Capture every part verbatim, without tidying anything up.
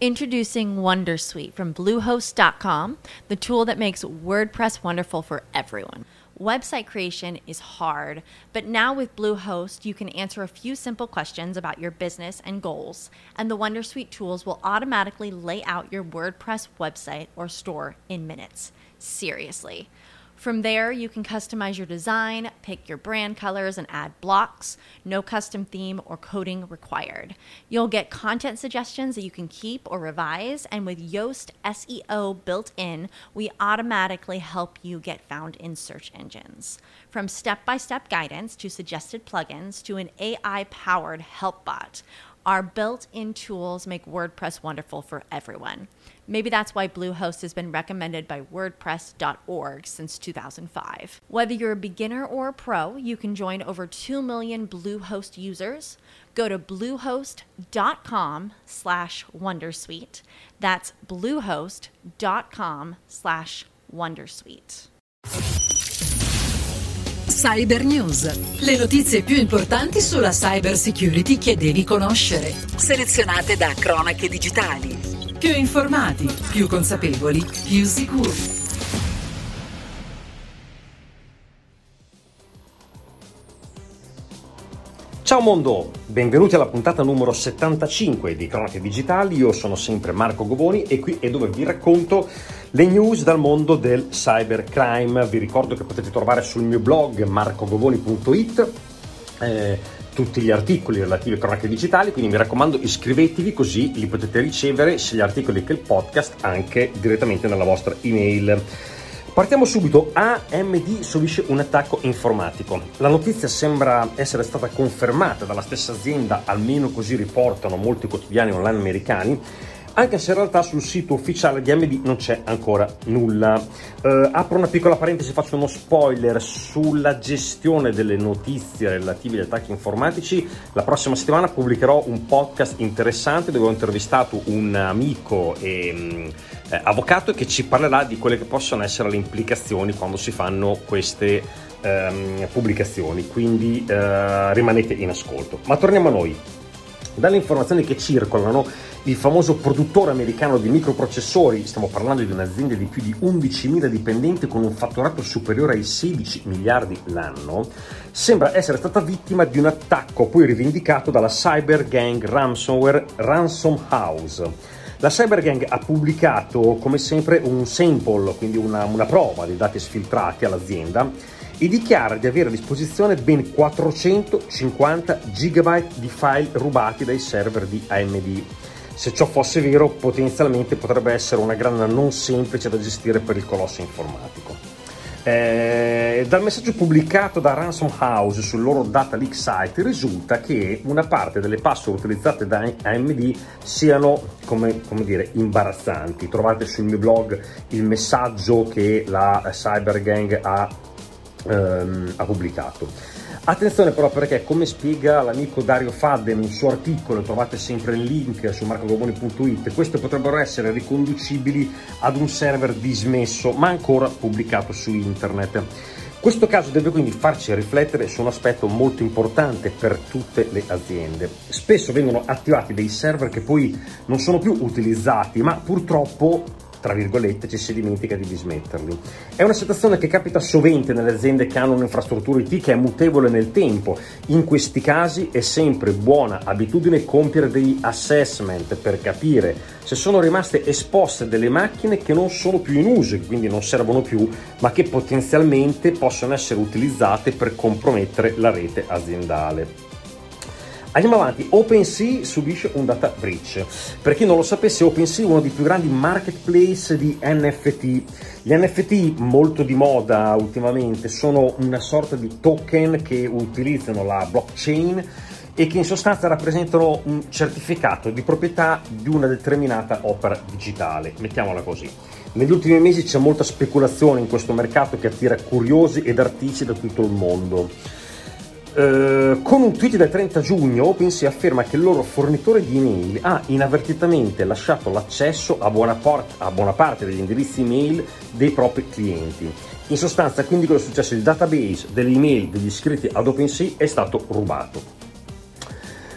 Introducing Wondersuite from Bluehost dot com, the tool that makes WordPress wonderful for everyone. Website creation is hard, but now with Bluehost, you can answer a few simple questions about your business and goals, and the Wondersuite tools will automatically lay out your WordPress website or store in minutes. Seriously. From there, you can customize your design, pick your brand colors, and add blocks. No custom theme or coding required. You'll get content suggestions that you can keep or revise, and with Yoast S E O built in, we automatically help you get found in search engines. From step-by-step guidance to suggested plugins to an A I-powered help bot, our built-in tools make WordPress wonderful for everyone. Maybe that's why Bluehost has been recommended by WordPress dot org since two thousand five. Whether you're a beginner or a pro, you can join over two million Bluehost users. Go to bluehost dot com slash wondersuite. That's bluehost dot com slash wondersuite. Cyber News, le notizie più importanti sulla cyber security che devi conoscere, selezionate da Cronache Digitali. Più informati, più consapevoli, più sicuri. Ciao mondo, benvenuti alla puntata numero settantacinque di Cronache Digitali. Io sono sempre Marco Govoni e qui è dove vi racconto le news dal mondo del cybercrime. Vi ricordo che potete trovare sul mio blog marco govoni punto it eh, tutti gli articoli relativi a Cronache Digitali, quindi mi raccomando iscrivetevi così li potete ricevere sia gli articoli che il podcast anche direttamente nella vostra email. Partiamo subito. A M D subisce un attacco informatico. La notizia sembra essere stata confermata dalla stessa azienda, almeno così riportano molti quotidiani online americani, anche se in realtà sul sito ufficiale di A M D non c'è ancora nulla. Eh, apro una piccola parentesi, faccio uno spoiler sulla gestione delle notizie relative agli attacchi informatici. La prossima settimana pubblicherò un podcast interessante dove ho intervistato un amico e eh, avvocato che ci parlerà di quelle che possono essere le implicazioni quando si fanno queste ehm, pubblicazioni, quindi eh, rimanete in ascolto. Ma torniamo a noi. Dalle informazioni che circolano, il famoso produttore americano di microprocessori, stiamo parlando di un'azienda di più di undicimila dipendenti con un fatturato superiore ai sedici miliardi l'anno, sembra essere stata vittima di un attacco poi rivendicato dalla cyber gang ransomware Ransom House. La cyber gang ha pubblicato come sempre un sample, quindi una, una prova dei dati sfiltrati all'azienda, e dichiara di avere a disposizione ben quattrocentocinquanta gigabyte di file rubati dai server di A M D. Se ciò fosse vero, potenzialmente potrebbe essere una grana non semplice da gestire per il colosso informatico. Eh, dal messaggio pubblicato da Ransom House sul loro data leak site risulta che una parte delle password utilizzate da A M D siano, come, come dire, imbarazzanti. Trovate sul mio blog il messaggio che la cyber gang ha Ehm, ha pubblicato. Attenzione però, perché come spiega l'amico Dario Fadden nel suo articolo, trovate sempre il link su marco govoni punto it, queste potrebbero essere riconducibili ad un server dismesso ma ancora pubblicato su internet. Questo caso deve quindi farci riflettere su un aspetto molto importante per tutte le aziende. Spesso vengono attivati dei server che poi non sono più utilizzati, ma purtroppo, tra virgolette, ci si dimentica di dismetterli. È una situazione che capita sovente nelle aziende che hanno un'infrastruttura I T che è mutevole nel tempo. In questi casi è sempre buona abitudine compiere degli assessment per capire se sono rimaste esposte delle macchine che non sono più in uso, che quindi non servono più, ma che potenzialmente possono essere utilizzate per compromettere la rete aziendale. Andiamo avanti. OpenSea subisce un data breach. Per chi non lo sapesse, OpenSea è uno dei più grandi marketplace di N F T. Gli N F T, molto di moda ultimamente, sono una sorta di token che utilizzano la blockchain e che in sostanza rappresentano un certificato di proprietà di una determinata opera digitale, mettiamola così. Negli ultimi mesi c'è molta speculazione in questo mercato che attira curiosi ed artisti da tutto il mondo. Uh, con un tweet del trenta giugno OpenSea afferma che il loro fornitore di email ha inavvertitamente lasciato l'accesso a buona, part- a buona parte degli indirizzi email dei propri clienti. In sostanza, quindi, cosa è successo? Il database delle email degli iscritti ad OpenSea è stato rubato.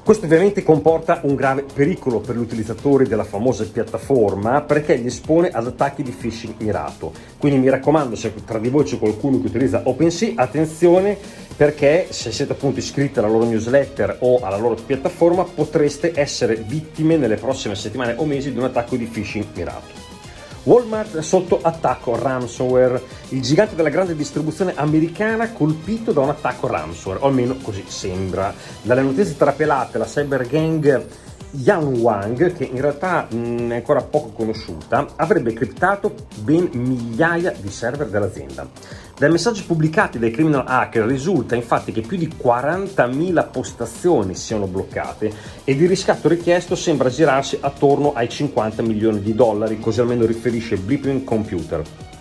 Questo ovviamente comporta un grave pericolo per gli utilizzatori della famosa piattaforma, perché li espone ad attacchi di phishing mirato. Quindi mi raccomando, se tra di voi c'è qualcuno che utilizza OpenSea, attenzione, perché se siete appunto iscritti alla loro newsletter o alla loro piattaforma potreste essere vittime nelle prossime settimane o mesi di un attacco di phishing mirato. Walmart sotto attacco ransomware. Il gigante della grande distribuzione americana colpito da un attacco ransomware, o almeno così sembra. Dalle notizie trapelate, la cyber gang Yan Wang, che in realtà mh, è ancora poco conosciuta, avrebbe criptato ben migliaia di server dell'azienda. Dai messaggi pubblicati dai criminal hacker risulta infatti che più di quarantamila postazioni siano bloccate ed il riscatto richiesto sembra girarsi attorno ai cinquanta milioni di dollari, così almeno riferisce Blipping Computer.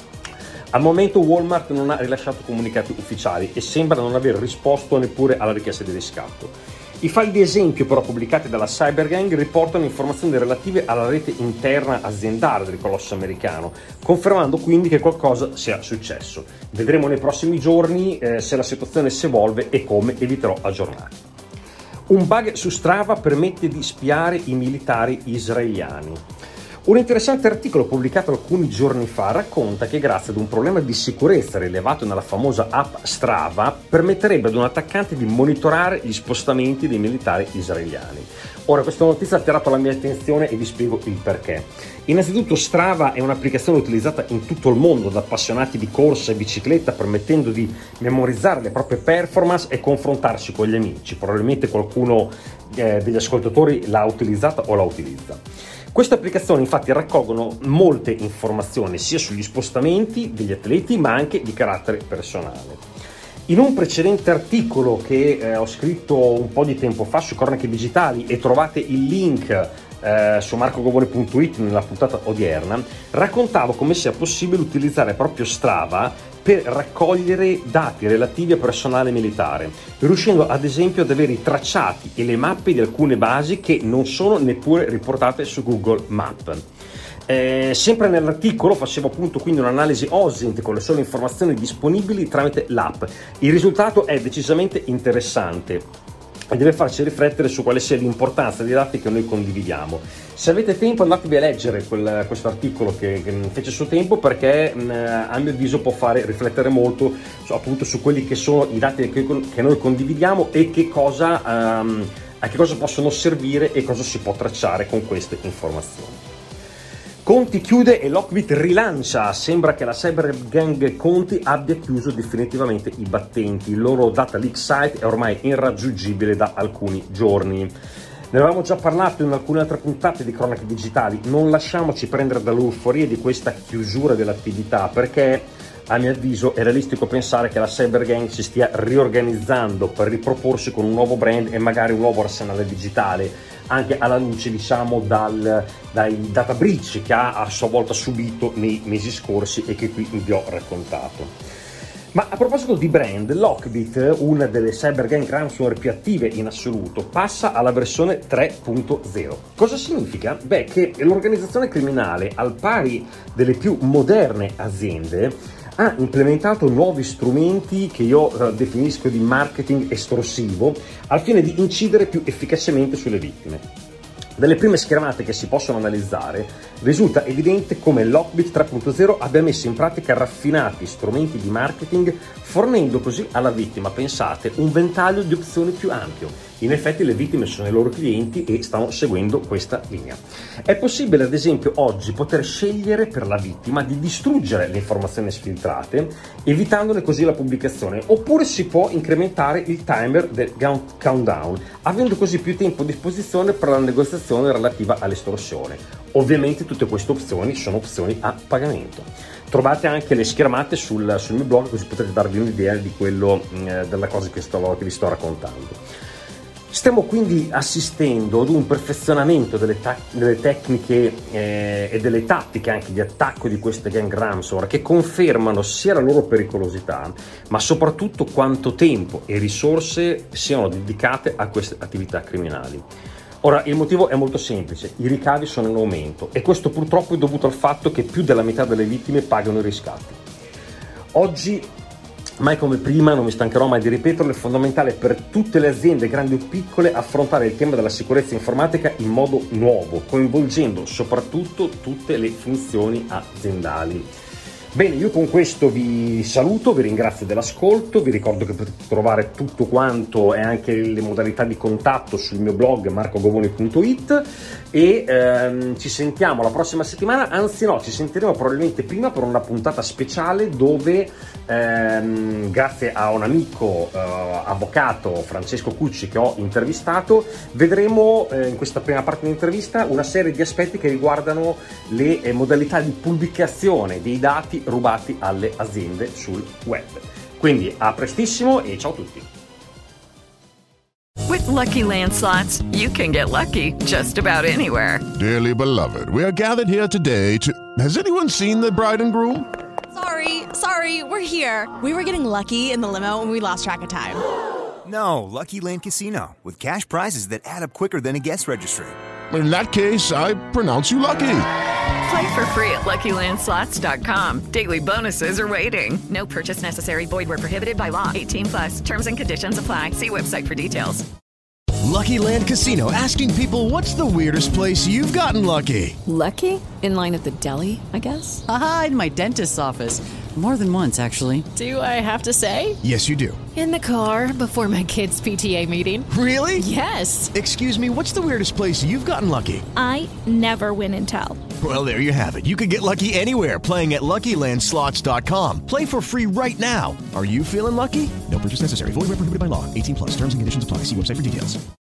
Al momento Walmart non ha rilasciato comunicati ufficiali e sembra non aver risposto neppure alla richiesta di riscatto. I file di esempio però pubblicati dalla Cybergang riportano informazioni relative alla rete interna aziendale del colosso americano, confermando quindi che qualcosa sia successo. Vedremo nei prossimi giorni eh, se la situazione si evolve e come, e vi terrò aggiornati. Un bug su Strava permette di spiare i militari israeliani. Un interessante articolo pubblicato alcuni giorni fa racconta che grazie ad un problema di sicurezza rilevato nella famosa app Strava permetterebbe ad un attaccante di monitorare gli spostamenti dei militari israeliani. Ora, questa notizia ha attirato la mia attenzione e vi spiego il perché. Innanzitutto Strava è un'applicazione utilizzata in tutto il mondo da appassionati di corsa e bicicletta, permettendo di memorizzare le proprie performance e confrontarsi con gli amici. Probabilmente qualcuno eh, degli ascoltatori l'ha utilizzata o la utilizza. Queste applicazioni infatti raccolgono molte informazioni sia sugli spostamenti degli atleti ma anche di carattere personale. In un precedente articolo che eh, ho scritto un po' di tempo fa su Cronache Digitali, e trovate il link eh, su marco govone punto it nella puntata odierna, raccontavo come sia possibile utilizzare proprio Strava per raccogliere dati relativi a personale militare, riuscendo ad esempio ad avere i tracciati e le mappe di alcune basi che non sono neppure riportate su Google Maps. Eh, sempre nell'articolo facevo appunto quindi un'analisi O S I N T con le sole informazioni disponibili tramite l'app. Il risultato è decisamente interessante e deve farci riflettere su quale sia l'importanza dei dati che noi condividiamo. Se avete tempo andatevi a leggere quel, questo articolo che, che fece suo tempo, perché mh, a mio avviso può fare riflettere molto su, appunto su quelli che sono i dati che, che noi condividiamo e che cosa, um, a che cosa possono servire e cosa si può tracciare con queste informazioni. Conti chiude e Lockbit rilancia. Sembra che la cybergang Conti abbia chiuso definitivamente i battenti. Il loro data leak site è ormai irraggiungibile da alcuni giorni. Ne avevamo già parlato in alcune altre puntate di Cronache Digitali. Non lasciamoci prendere dall'euforia di questa chiusura dell'attività, perché a mio avviso è realistico pensare che la cybergang si stia riorganizzando per riproporsi con un nuovo brand e magari un nuovo arsenale digitale, anche alla luce diciamo dal, dai data breach che ha a sua volta subito nei mesi scorsi e che qui vi ho raccontato. Ma a proposito di brand, Lockbit, una delle cybergang ransomware più attive in assoluto, passa alla versione tre punto zero. Cosa significa? Beh, che l'organizzazione criminale, al pari delle più moderne aziende, ha implementato nuovi strumenti che io uh, definisco di marketing estorsivo al fine di incidere più efficacemente sulle vittime. Dalle prime schermate che si possono analizzare risulta evidente come Lockbit tre punto zero abbia messo in pratica raffinati strumenti di marketing, fornendo così alla vittima, pensate, un ventaglio di opzioni più ampio. In effetti le vittime sono i loro clienti e stanno seguendo questa linea. È possibile ad esempio oggi poter scegliere per la vittima di distruggere le informazioni sfiltrate, evitandone così la pubblicazione, oppure si può incrementare il timer del countdown, avendo così più tempo a disposizione per la negoziazione relativa all'estorsione. Ovviamente tutte queste opzioni sono opzioni a pagamento. Trovate anche le schermate sul, sul mio blog, così potete darvi un'idea di quello, eh, della cosa che, sto, che vi sto raccontando. Stiamo quindi assistendo ad un perfezionamento delle, ta- delle tecniche eh, e delle tattiche anche di attacco di queste gang ransomware, che confermano sia la loro pericolosità, ma soprattutto quanto tempo e risorse siano dedicate a queste attività criminali. Ora, il motivo è molto semplice: i ricavi sono in aumento e questo purtroppo è dovuto al fatto che più della metà delle vittime pagano i riscatti. Oggi Mai come prima, non mi stancherò mai di ripeterlo, è fondamentale per tutte le aziende, grandi o piccole, affrontare il tema della sicurezza informatica in modo nuovo, coinvolgendo soprattutto tutte le funzioni aziendali. Bene, io con questo vi saluto, vi ringrazio dell'ascolto, vi ricordo che potete trovare tutto quanto e anche le modalità di contatto sul mio blog marco govoni punto it e ehm, ci sentiamo la prossima settimana, anzi no, ci sentiremo probabilmente prima per una puntata speciale dove ehm, grazie a un amico eh, avvocato, Francesco Cucci, che ho intervistato, vedremo eh, in questa prima parte dell'intervista una serie di aspetti che riguardano le eh, modalità di pubblicazione dei dati rubati alle aziende sul web. Quindi a prestissimo e ciao a tutti. With Lucky Land Slots, you can get lucky just about anywhere. Dearly beloved, we are gathered here today to... Has anyone seen the bride and groom? Sorry, sorry, we're here. We were getting lucky in the limo and we lost track of time. No, Lucky Land Casino, with cash prizes that add up quicker than a guest registry. In that case, I pronounce you lucky. Play for free at lucky land slots dot com. Daily bonuses are waiting. No purchase necessary. Void where prohibited by law. eighteen plus. Terms and conditions apply. See website for details. Lucky Land Casino, asking people, what's the weirdest place you've gotten lucky? Lucky? In line at the deli, I guess? Aha, in my dentist's office. More than once, actually. Do I have to say? Yes, you do. In the car before my kids' P T A meeting. Really? Yes. Excuse me, what's the weirdest place you've gotten lucky? I never win and tell. Well, there you have it. You can get lucky anywhere, playing at lucky land slots dot com. Play for free right now. Are you feeling lucky? No purchase necessary. Void where prohibited by law. eighteen plus. Terms and conditions apply. See website for details.